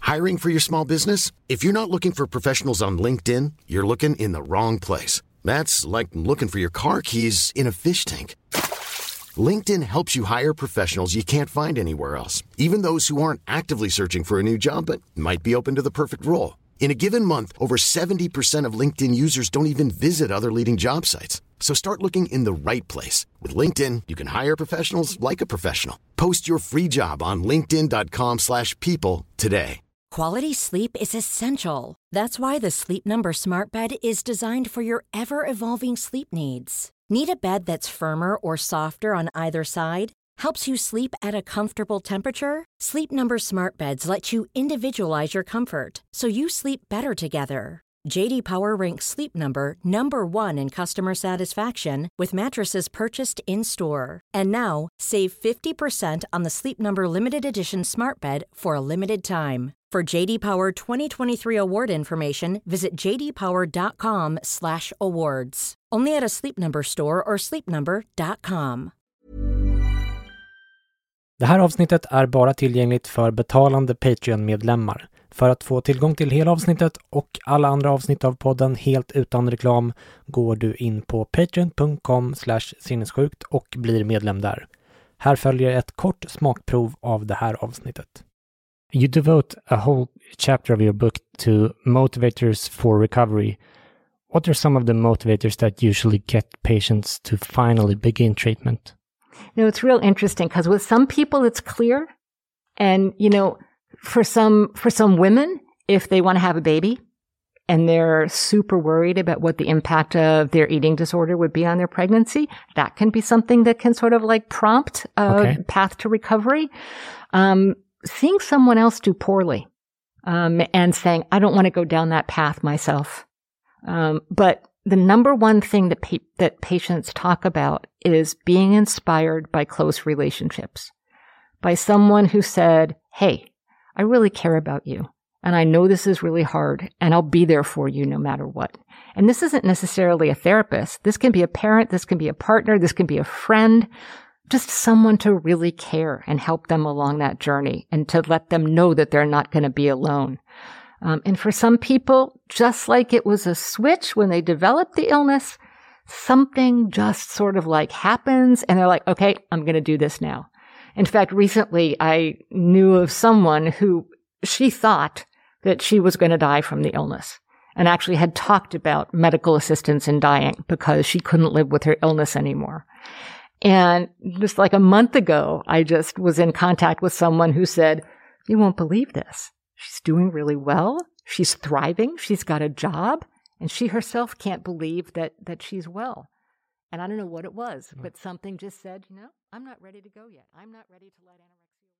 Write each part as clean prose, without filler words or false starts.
Hiring for your small business? If you're not looking for professionals on LinkedIn, you're looking in the wrong place. That's like looking for your car keys in a fish tank. LinkedIn helps you hire professionals you can't find anywhere else, even those who aren't actively searching for a new job but might be open to the perfect role. In a given month, over 70% of LinkedIn users don't even visit other leading job sites. So start looking in the right place. With LinkedIn, you can hire professionals like a professional. Post your free job on linkedin.com/people today. Quality sleep is essential. That's why the Sleep Number Smart Bed is designed for your ever-evolving sleep needs. Need a bed that's firmer or softer on either side? Helps you sleep at a comfortable temperature? Sleep Number Smart Beds let you individualize your comfort, so you sleep better together. J.D. Power ranks Sleep Number number 1 in customer satisfaction with mattresses purchased in-store. And now, save 50% on the Sleep Number Limited Edition Smart Bed for a limited time. For J.D. Power 2023 award information, visit jdpower.com/awards. Only at a Sleep Number store or sleepnumber.com. Det här avsnittet är bara tillgängligt för betalande Patreon-medlemmar. För att få tillgång till hela avsnittet och alla andra avsnitt av podden helt utan reklam går du in på patreon.com/sinnessjukt och blir medlem där. Här följer ett kort smakprov av det här avsnittet. You devote a whole chapter of your book to motivators for recovery. What are some of the motivators that usually get patients to finally begin treatment? It's real interesting because with some people it's clear. And, for some women, if they want to have a baby and they're super worried about what the impact of their eating disorder would be on their pregnancy, that can be something that can sort of like prompt a path to recovery. Seeing someone else do poorly, and saying, I don't want to go down that path myself. But the number one thing that patients talk about is being inspired by close relationships, by someone who said, hey, I really care about you, and I know this is really hard, and I'll be there for you no matter what. And this isn't necessarily a therapist. This can be a parent, this can be a partner, this can be a friend, just someone to really care and help them along that journey and to let them know that they're not going to be alone. And for some people, just like it was a switch when they developed the illness, something just sort of like happens and they're like, okay, I'm going to do this now. In fact, recently I knew of someone who she thought that she was going to die from the illness and actually had talked about medical assistance in dying because she couldn't live with her illness anymore. And just like a month ago, I just was in contact with someone who said, you won't believe this. She's doing really well. She's thriving. She's got a job. And she herself can't believe that she's well. And I don't know what it was, but something just said, I'm not ready to go yet. I'm not ready to let anorexia.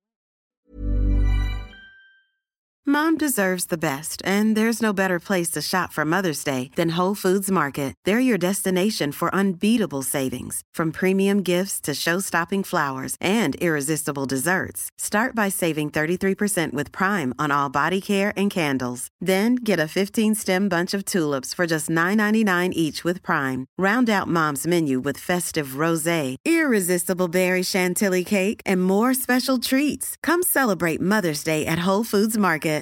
Mom deserves the best, and there's no better place to shop for Mother's Day than Whole Foods Market. They're your destination for unbeatable savings, from premium gifts to show-stopping flowers and irresistible desserts. Start by saving 33% with Prime on all body care and candles. Then get a 15-stem bunch of tulips for just $9.99 each with Prime. Round out Mom's menu with festive rosé, irresistible berry chantilly cake, and more special treats. Come celebrate Mother's Day at Whole Foods Market.